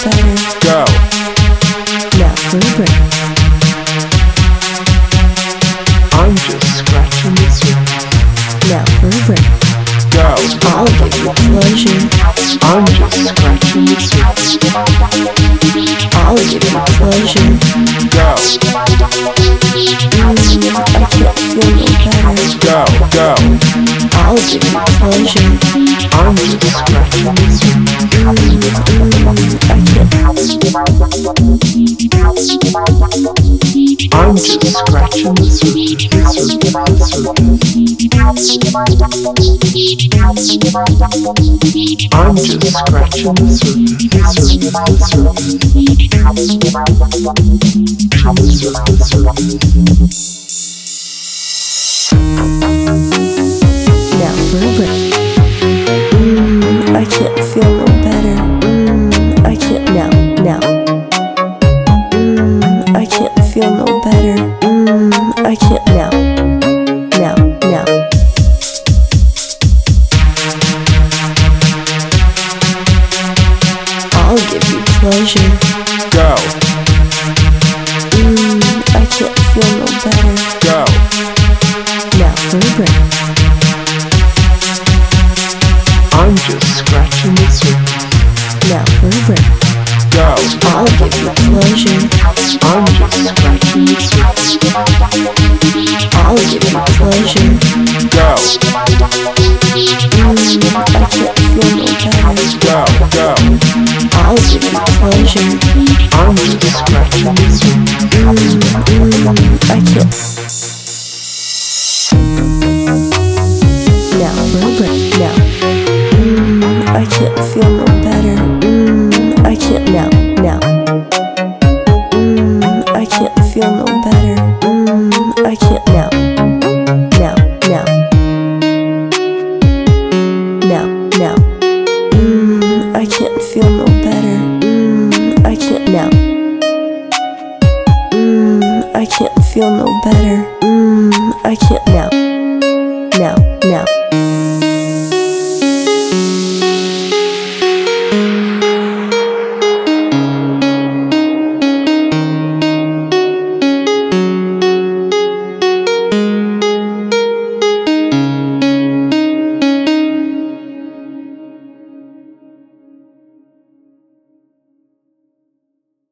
better. Go. Now for a break. I'm just scratching the surface. Now for a break. Go. I'll give you pleasure. I'm just scratching the surface. I'll give you pleasure. Go. I can't feel no better. Go. Go. I'll give you pleasure. I'm just scratching the surface. I can't. I'm just scratching the surface. I'm just scratching the Now for a break. I can't feel no better. I can't now. I can't feel no better. I can't now. I'll give you pleasure. Go. I can't feel no better. Go. Now for a break. I'm just scratching the surface. Now for a break. Go. I'll give you pleasure. I'm just scratching the surface. I'll give you pleasure. Go. I can't feel no better. Go. Go. I'll give you pleasure. I'm just scratching the surface. I can't. Now for a break. Now. I can't feel no better. I can't now. I can't feel no better. I can't now. I can't feel no better. I can't now. I can't feel no better. I can't now.